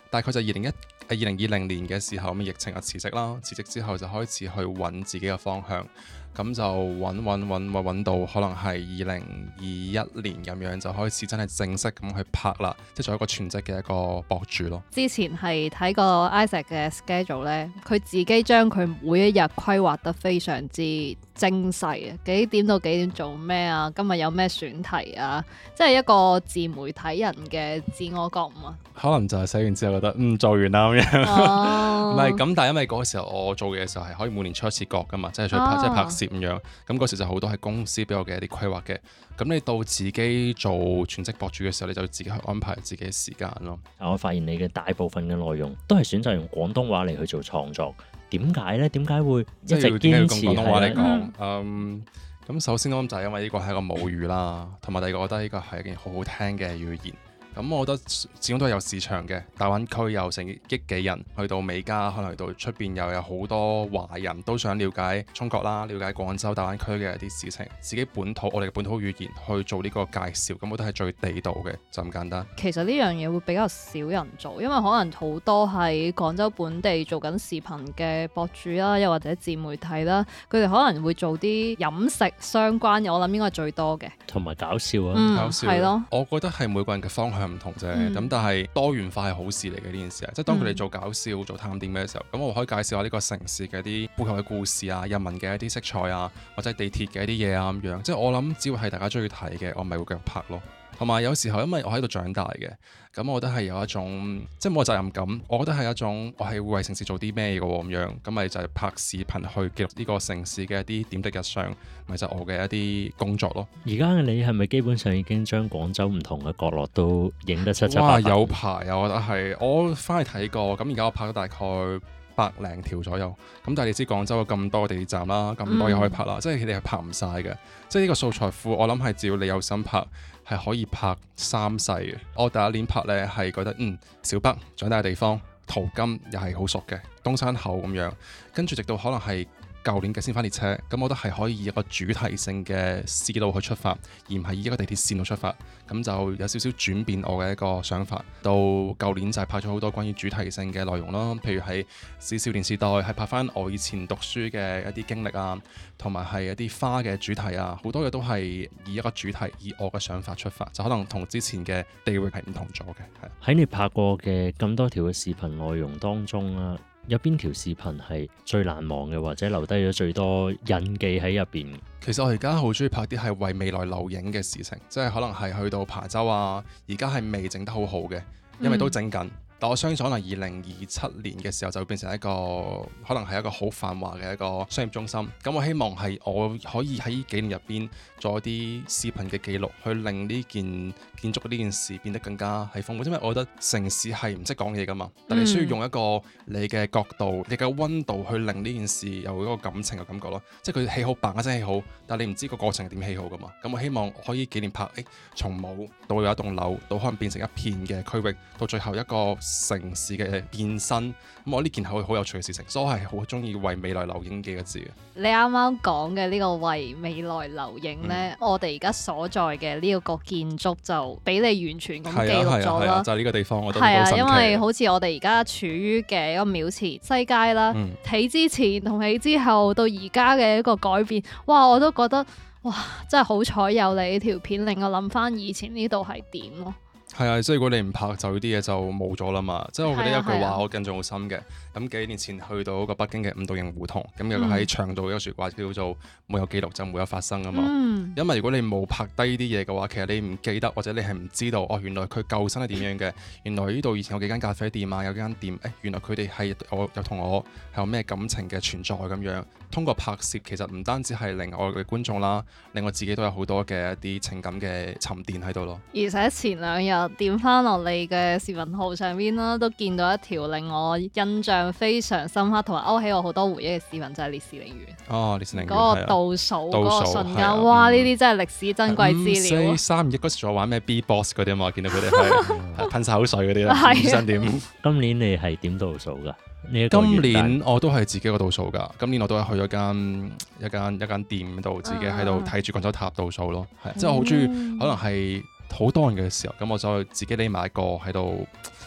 大概就二零一誒二零二零年嘅時候，咁疫情啊辭職啦，辭職之後就開始去揾自己嘅方向。咁就揾揾揾揾揾到可能係二零二一年咁樣，就開始真係正式咁去拍啦，即係做一個全職嘅一個博主咯。 之前係睇過 Isaac 嘅 schedule 咧，佢自己將佢每一日規劃得非常之精細啊！幾點到幾點做咩啊？今日有咩選題啊？即係一個自媒體人嘅自我覺悟啊！ 可能就係寫完之後覺得嗯做完啦咁樣，唔係咁，但係因為嗰個時候我做嘅時候係可以每年出一次國噶嘛，即係出去拍、哦、即係拍攝咁樣。咁嗰時就好多係公司俾我嘅一啲規劃嘅。咁你到自己做全職博主嘅時候，你就自己去安排自己嘅時間咯。 我發現你嘅大部分嘅內容都係選擇用廣東話嚟去做創作，點解呢？點解會一直堅持用廣東話嚟講？ 嗯嗯，咁首先我諗就係因為呢個係一個母語啦，同埋第二個我覺得呢個係一件好好聽嘅語言。咁我覺得始終都係有市場嘅，大灣區有成億幾人，去到美加，可能去到出邊又有好多華人都想了解中國啦，了解廣州大灣區嘅一啲事情，自己本土我哋嘅本土語言去做呢個介紹，咁我覺得係最地道嘅，就咁簡單。 其實呢樣嘢會比較少人做，因為可能好多喺廣州本地做緊視頻嘅博主啦，又或者自媒體啦，佢哋可能會做啲飲食相關嘅，我諗應該係最多嘅， 同埋搞笑啊， 嗯、 搞笑係咯。 我覺得係每個人嘅方向唔同啫，咁、嗯、但係多元化係好事嚟嘅呢件事啊！即係當佢哋做搞笑、嗯、做探店嘅時候，咁我可以介紹下呢個城市嘅一啲背後嘅故事啊、人民嘅一啲色彩啊，或者地鐵嘅一啲嘢啊咁樣。即係我諗，只要係大家中意睇嘅，我咪會繼續拍咯。同埋有，有時候因為我喺度長大嘅，咁我覺得係有一種即係冇責任感。我覺得係一種我係會為城市做啲咩嘅喎咁樣，咁咪就係拍視頻去記錄呢個城市嘅一啲點滴日常，咪就係、我嘅一啲工作咯。 而家嘅你係咪基本上已經將廣州唔同嘅角落都影得七七八八？ 哇！有排啊，我覺得係我翻去睇過，咁而家我拍咗大概百零條左右。咁但係你知廣州有咁多地鐵站啦，咁多嘢可以拍啦，嗯、即係佢哋係拍唔晒嘅。即係呢個素材庫，我諗係只要你有心拍，係可以拍三世嘅。我第一年拍呢，係覺得嗯，小北長大嘅地方，淘金又係好熟嘅，東山口咁樣，跟住直到可能係舊年嘅先返列車，咁我覺得係可以以一個主題性嘅思路去出發，而唔係以一個地鐵線度出發，咁就有少少轉變我嘅一個想法。到舊年就係拍咗好多關於主題性嘅內容啦，譬如係《少年時代》係拍翻我以前讀書嘅一啲經歷啊，同埋係一啲花嘅主題啊，好多嘢都係以一個主題，以我嘅想法出發，就可能同之前嘅地域係唔同咗嘅。係喺你拍過嘅咁多條嘅視頻內容當中啦，有邊條視頻係最難忘嘅，或者留低咗最多印記喺入邊？ 其實我而家好中意拍啲係為未來留影嘅事情，即係可能係去到琶洲啊，而家係未整得好好嘅，因為都整緊。嗯但我相信可能二零二七年嘅時候就會變成一個可能係一個好繁華嘅一個商業中心。咁我希望係我可以喺幾年入邊做一啲視頻嘅記錄，去令呢件建築呢件事變得更加係豐富。因為我覺得城市係唔識講嘢噶嘛，但你需要用一個你嘅角度、你嘅溫度去令呢件事有一個感情嘅感覺咯。即係佢起好，嘭一聲起好，但係你唔知個過程係點起好噶嘛。咁我希望可以幾年拍，誒從冇到有一棟樓，到可能變成一片嘅區域，到最後一個城市嘅變身，咁我呢件係好有趣嘅事情，所以我係好中意為未來留影幾個字嘅。 你啱啱講嘅呢個為未來留影呢，嗯、我哋而家所在嘅呢個建築就俾你完全咁記錄咗啦。就係、是、呢個地方，我覺得好神奇。係啊，因為好似我哋而家處於嘅一個廟池西街啦，起、嗯、之前同起之後到而家嘅一個改變，哇！我都覺得哇，真係好彩有你呢條片，令我諗翻以前呢度係點咯。 係啊，即係如果你唔拍，就呢啲嘢就冇咗啦嘛。即係我覺得一句話我印象好深嘅。咁幾年前去到個北京嘅五道營胡同，咁有個喺牆度一個説話叫做沒有記錄就沒有發生啊嘛。嗯、因為如果你冇拍低呢啲嘢嘅話，其實你唔記得或者你係唔知道哦，原來佢舊身係點樣嘅。原來呢度以前有幾間咖啡店啊，有幾間店，誒原來佢哋係我有同我係有咩感情嘅存在咁樣。通過拍攝其實唔單止係令我嘅觀眾啦，令我自己都有好多嘅一啲情感嘅沉澱喺度咯。而且前兩日點翻落你嘅視頻號上邊啦，都見到一條令我印象非常深刻同埋勾起我好多回憶嘅視頻，就係、是、烈士陵園。哦，烈士陵園嗰個倒數嗰個瞬間，哇！呢啲、嗯、真係歷史珍貴資料。五四三二一嗰時仲玩咩 B-box 嗰啲啊嘛，見到佢哋係噴晒口水嗰啲啦，唔想點。今年你係點倒數㗎？今年我都係自己個倒數㗎。今年我都係去咗間一間一間店度，自己喺度睇住廣州塔倒數咯。係、嗯，即係我好中意，可能係好多人嘅時候，咁我就自己匿埋一個喺度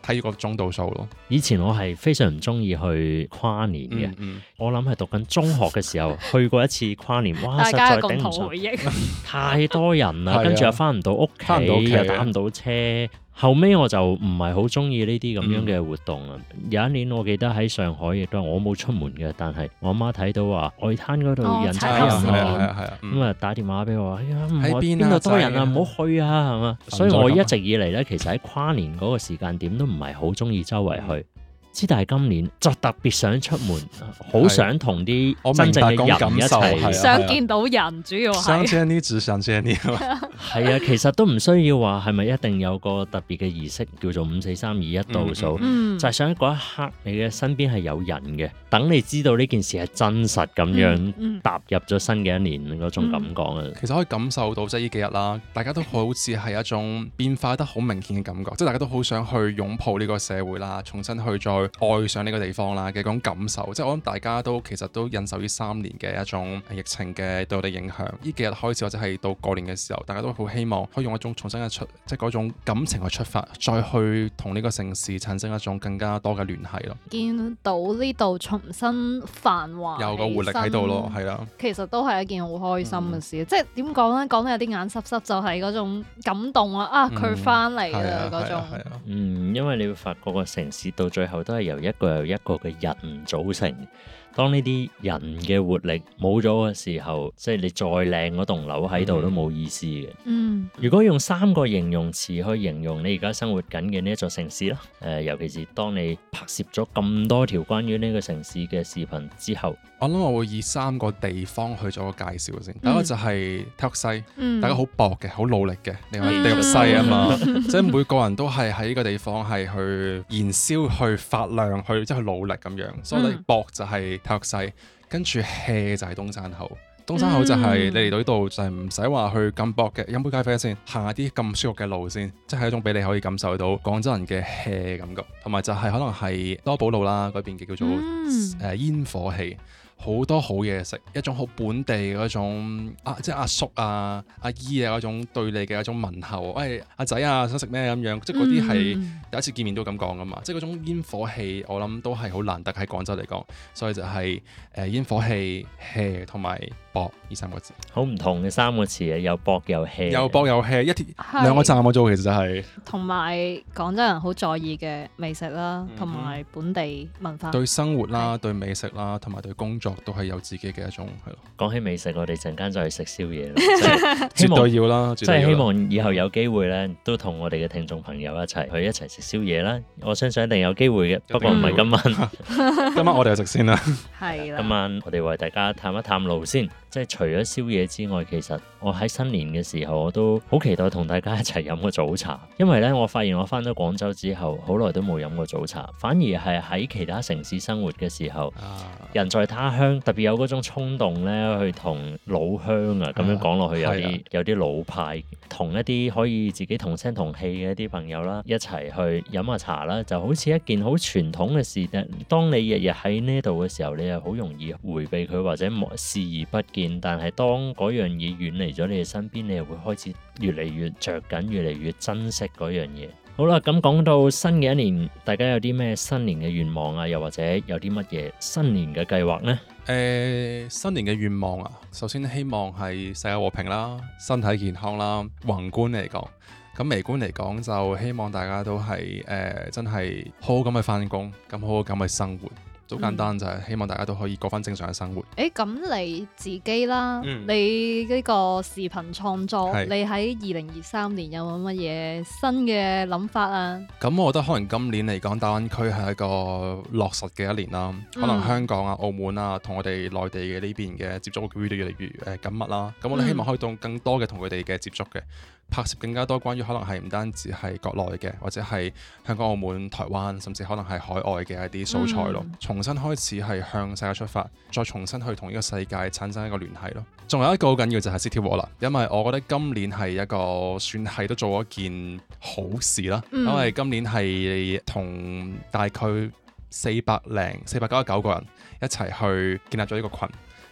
睇個鐘度數咯。 以前我係非常唔中意去跨年嘅， 嗯嗯、 我諗係讀緊中學嘅時候去過一次跨年，哇！ 大家嘅實在頂唔順， 共同回憶太多人啦，跟住又翻唔到屋企，又打唔到車。後尾我就唔係好中意呢啲咁樣嘅活動啦。嗯、有一年我記得喺上海，亦都係我冇出門嘅，但係我媽睇到話外灘嗰度人踩人啊，咁啊打電話俾我，哎呀唔係邊度多人啊，唔好去啊，係嘛？所以我一直以嚟咧，其實喺跨年嗰個時間點都唔係好中意周圍去。之但係今年就特別想出門，好想同啲真正嘅人一齊， 想見到人，主要係想見你，只想見你。 係啊，其實都唔需要話係咪一定有個特別嘅儀式叫做五四三二一倒數， 嗯、 就係想喺嗰一刻你嘅身邊係有人嘅，等你知道呢件事係真實咁樣、嗯嗯、踏入咗新嘅一年嗰種感覺啊、嗯。 其實可以感受到即係呢幾日啦，大家都好似係一種變化得好明顯嘅感覺，即係大家都好想去擁抱呢個社會啦，重新去再愛上呢個地方啦嘅嗰種感受，即係我諗大家都其實都忍受呢三年嘅一種疫情嘅對我哋影響。呢幾日開始或者係到過年嘅時候，大家都好希望可以用一種重新嘅出，即係嗰種感情去出發，再去同呢個城市產生一種更加多嘅聯繫咯。 見到呢度重新繁華， 有個活力喺度咯，係啦。 其實都係一件好開心嘅事， 嗯、 即係點講咧？講到有啲眼濕濕，就係嗰種感動啊！啊，佢翻嚟啦嗰種。 嗯，因為你會發覺個城市到最後都係由一個又一個嘅人組成。當呢啲人嘅活力冇咗嘅時候，即係你再靚嗰棟樓喺度都冇意思嘅。 嗯， 如果用三個形容詞去形容你而家生活緊嘅呢一座城市啦，誒、呃，尤其是當你拍攝咗咁多條關於呢個城市嘅視頻之後， 我諗我會以三個地方去做個介紹先。第一個就係體育西， 嗯、 大家好搏嘅，好努力嘅，你話地獄西啊嘛，即係每個人都係喺呢個地方係去燃燒、去發亮、去即係去努力咁樣，所以你搏就係體育西，跟住 hea 就係東山口。東山口就係你嚟到呢度就係唔使話去咁搏嘅，飲杯咖啡先，行下啲咁舒服嘅路先，即係一種俾你可以感受到廣州人嘅 hea 感覺，同埋就係可能係多寶路啦嗰邊嘅叫做誒、嗯呃、煙火氣。好多好嘢食，一種好本地嗰種啊，即係阿叔啊、阿姨啊嗰種對你嘅一種問候，喂阿仔啊想食咩咁樣，即係嗰啲係第一次見面都咁講噶嘛，即係嗰種煙火氣，我諗都係好難得喺廣州嚟講，所以就係、是、誒、呃、煙火氣 hea 同埋搏呢三個字， 好唔同嘅三個詞啊，有搏有 hea， 有搏有 hea，一條兩個站我做其實就係同埋廣州人好在意嘅美食啦，同埋、嗯、本地文化， 對生活啦、是對美食啦，同埋對工作。都係有自己嘅一種係咯。 講起美食，我哋陣間就去食宵夜啦。 絕對要啦， 即係希望以後有機會咧，都同我哋嘅聽眾朋友一齊去一齊食宵夜啦。我相信一定有機會嘅，不過唔係今晚。 今晚我哋就食先啦。 係啦。 今晚我哋為大家探一探路先。即係除咗宵夜之外，其實我喺新年嘅時候，我都好期待同大家一齊飲個早茶。因為咧，我發現我翻咗廣州之後，好耐都冇飲過早茶，反而係喺其他城市生活嘅時候，啊、人在他鄉，特別有嗰種衝動咧，去同老鄉啊，咁樣講落去有啲、啊、有啲老派，同一啲可以自己同聲同氣嘅一啲朋友啦，一齊去飲下茶啦，就好似一件好傳統嘅事。當你日日喺呢度嘅時候，你又好容易迴避佢或者視而不見。但係當嗰樣嘢遠離咗你嘅身邊，你又會開始越嚟越着緊，越嚟越珍惜嗰樣嘢。好啦，咁講到新嘅一年，大家有啲咩新年嘅願望啊？又或者有啲乜嘢新年嘅計劃呢？ 誒、呃，新年嘅願望啊，首先希望係世界和平啦，身體健康啦。宏觀嚟講，咁微觀嚟講就希望大家都係誒、呃、真係好好咁去返工，咁好好咁去生活。好簡單，就係希望大家都可以過翻正常嘅生活。 誒，咁你自己啦， 嗯、 你呢個視頻創作， 是你喺二零二三年有冇乜嘢新嘅諗法啊？ 咁我覺得可能今年嚟講，大灣區係一個落實嘅一年啦。嗯、可能香港啊、澳門啊，同我哋內地嘅呢邊嘅接觸會越嚟越誒緊密啦。咁我哋希望可以到更多嘅同佢哋嘅接觸嘅。拍攝更加多關於可能係唔單止係國內嘅，或者係香港、澳門、台灣，甚至可能係海外嘅一啲素材咯。嗯、重新開始係向世界出發，再重新去同呢個世界產生一個聯繫咯。仲有一個好緊要就係 City Walk 啦，因為我覺得今年係一個算係都做咗件好事啦。嗯、因為今年係同大概四百零四百九十九個人一齊去建立咗呢個群。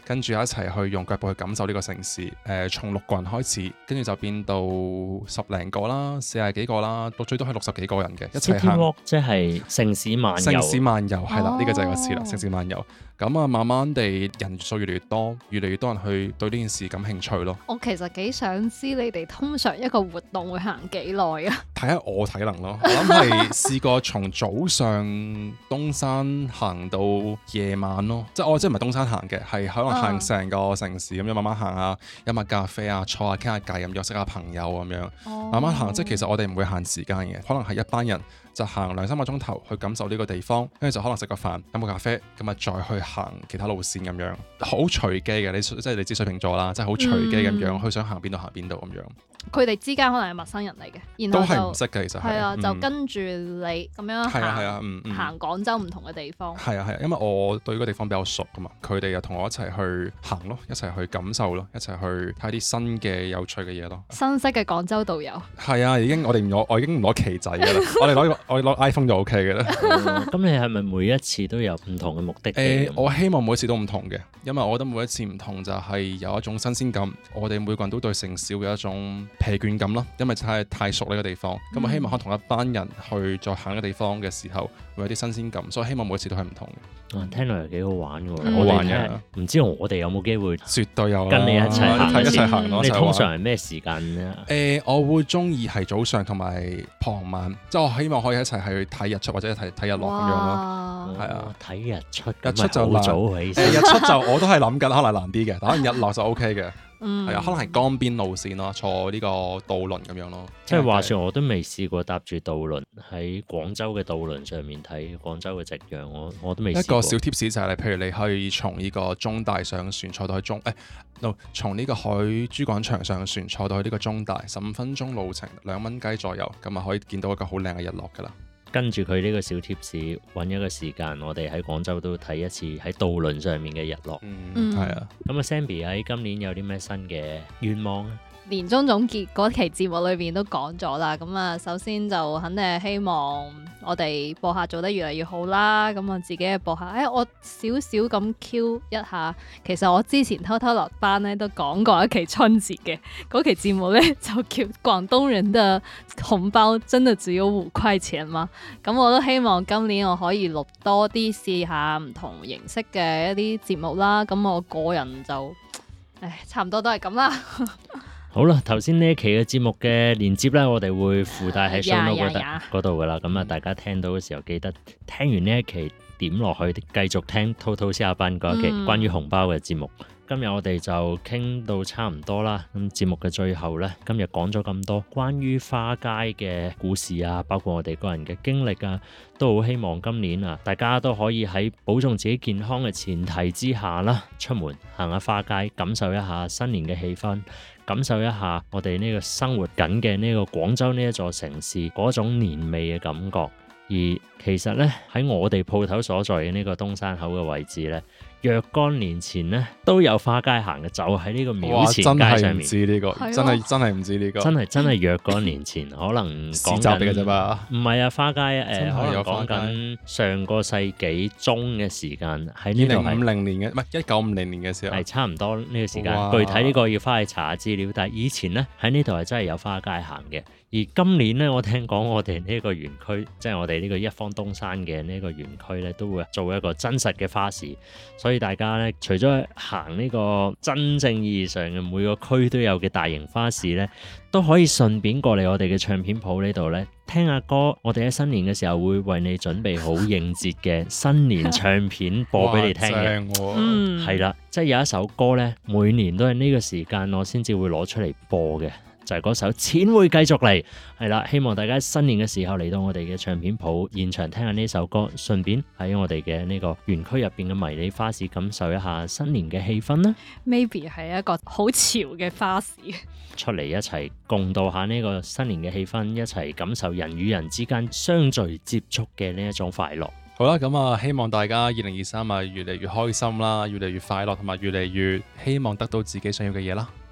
跟住一齊去用腳步去感受呢個城市。誒、呃，從六個人開始，跟住就變到十零個啦、四十幾個啦，到最多係六十幾個人嘅一齊行。 City Walk 即係城市漫遊。 城市漫遊係啦，呢、 哦、 個就係個詞啦，城市漫遊。咁啊，慢慢地人數越嚟越多，越嚟越多人去對呢件事感興趣咯。 我其實幾想知你哋通常一個活動會行幾耐啊？ 睇下我體能咯，我諗係試過從早上東山行到夜晚咯，即係我即係唔係東山行嘅，係可能行成個城市咁樣慢慢行下，飲下咖啡啊，坐下傾下偈咁樣，識下朋友咁樣， 哦、 慢慢行。即係其實我哋唔會限時間嘅，可能係一班人就行兩三個鐘頭去感受呢個地方，跟住就可能食個飯飲個咖啡，咁啊再去行其他路線咁樣，好隨機嘅。你即係你知水瓶座啦，即係好隨機咁樣，佢、嗯、想行邊度行邊度咁樣。佢哋之間可能係陌生人嚟嘅，然後都係唔識嘅，其實係啊， 嗯、 就跟住你咁樣行， 係啊，嗯嗯、 行廣州唔同嘅地方。 係啊係啊，因為我對嗰個地方比較熟噶嘛，佢哋又同我一齊去行咯，一齊去感受咯，一齊去睇啲新嘅有趣嘅嘢咯。 新式嘅廣州導遊。 係啊，已經我哋唔攞，我已經唔攞旗仔噶啦，我哋攞我哋攞 iPhone 就 OK 嘅啦。 咁你係咪每一次都有唔同嘅目的地？ 誒、呃，我希望每一次都唔同嘅，因為我覺得每一次唔同就係有一種新鮮感。我哋每個人都對城市嘅一種疲倦感啦，因為太太熟呢個地方。咁、嗯、我希望可同一班人去再行呢個地方嘅時候，會有啲新鮮感。所以希望每一次都係唔同嘅。 啊，聽落又幾好玩嘅喎， 嗯、 我好玩嘅。 唔知我哋有冇機會？ 絕對有， 跟你一齊行一齊行咯。 你通常係咩時間咧？ 誒、呃，我會中意係早上同埋傍晚，即係我希望可以一齊去睇日出或者睇睇日落咁樣咯。係啊， 睇日出， 日出就好早起身。 誒，日出就我都係諗緊，可能難啲嘅，但可能日落就 OK 嘅。 嗯， 係啊，可能係江邊路線咯，坐呢個渡輪咁樣咯。 即係話說，我都未試過搭住渡輪喺廣州嘅渡輪上面睇廣州嘅夕陽，我我都未試過。一個小 tips 就係、是，譬如你可以從呢個中大上船坐到去中，誒、哎，no，從呢個海珠廣場上船坐到去呢個中大，十五分鐘路程，兩蚊雞左右，咁啊可以見到一個好靚嘅日落噶啦。 跟住佢呢個小貼士，揾一個時間，我哋喺廣州都睇一次喺渡輪上面嘅日落。 嗯，係啊。 咁啊，Zenbi 喺今年有啲咩新嘅願望啊？ 年終總結嗰期節目裏邊都講咗啦，咁啊，首先就肯定係希望我哋播客做得越嚟越好啦。咁我自己嘅播客，誒、哎，我少少咁 Q 一下，其實我之前偷偷落班咧都講過一期春節嘅嗰期節目咧，就叫廣東人的紅包真的只有五塊錢嘛。咁我都希望今年我可以錄多啲，試下唔同形式嘅一啲節目啦。咁我個人就，誒，差唔多都係咁啦。 好啦，頭先呢一期嘅節目嘅連接咧，我哋會附帶喺 show note 嗰度噶啦。咁啊，大家聽到嘅時候記得聽完呢一期點落去，繼續聽滔滔下班嗰一期關於紅包嘅節目。嗯、今日我哋就傾到差唔多啦。咁節目嘅最後咧，今日講咗咁多關於花街嘅故事啊，包括我哋個人嘅經歷啊，都好希望今年啊，大家都可以喺保重自己健康嘅前提之下啦，出門行下花街，感受一下新年嘅氣氛。感受一下我哋呢個生活緊嘅呢個廣州呢一座城市嗰種年味嘅感覺，而其實呢，喺我哋鋪頭所在嘅呢個東山口嘅位置呢，若干年前呢都有花街行嘅，就喺呢個廟前街上面。真係唔知呢個，真係真係唔知呢個，真係真係若干年前，可能講緊嘅啫嘛。唔係啊，花街誒，可能講緊上個世紀中嘅時間喺呢度係。二零五零年嘅，唔係一九五零年嘅時候，係差唔多呢個時間。具體呢個要翻去查下資料，但係以前呢，喺呢度係真係有花街行嘅。而今年呢，我聽講我哋呢個園區，即係我哋呢個一方東山嘅呢個園區呢，都會做一個真實嘅花市，所以大家呢，除咗行呢個真正意義上嘅每個區都有嘅大型花市呢，都可以順便過嚟我哋嘅唱片鋪呢度呢，聽下歌。我哋喺新年嘅時候會為你準備好應節嘅新年唱片播俾你聽嘅。嗯，係啦，即係有一首歌呢，每年都係呢個時間我先至會攞出嚟播嘅。就係嗰首錢會繼續嚟，係啦，希望大家新年嘅時候嚟到我哋嘅唱片鋪現場聽下呢首歌，順便喺我哋嘅呢個園區入邊嘅迷你花市感受一下新年嘅氣氛啦。 Maybe 係一個好潮嘅花市， 出嚟一齊共度下呢個新年嘅氣氛，一齊感受人與人之間相聚接觸嘅呢一種快樂。 好啦，咁啊，希望大家二零二三啊越嚟越開心啦，越嚟越快樂，同埋越嚟越希望得到自己想要嘅嘢啦。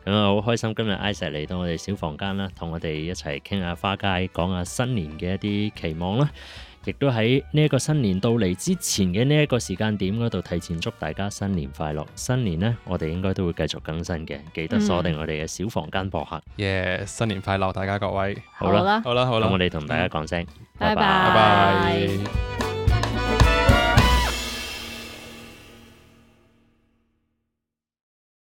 咁啊，好開心今日 Isaac 嚟到我哋小房間啦，同我哋一齊傾下花街，講下新年嘅一啲期望啦。亦都喺呢一個新年到嚟之前嘅呢一個時間點嗰度，提前祝大家新年快樂。新年呢，我哋應該都會繼續更新嘅，記得鎖定我哋嘅小房間播客。 耶！Yeah, 新年快樂，大家各位。 好啦， 好啦，好啦， 咁我哋同大家講聲， 拜拜。 拜拜。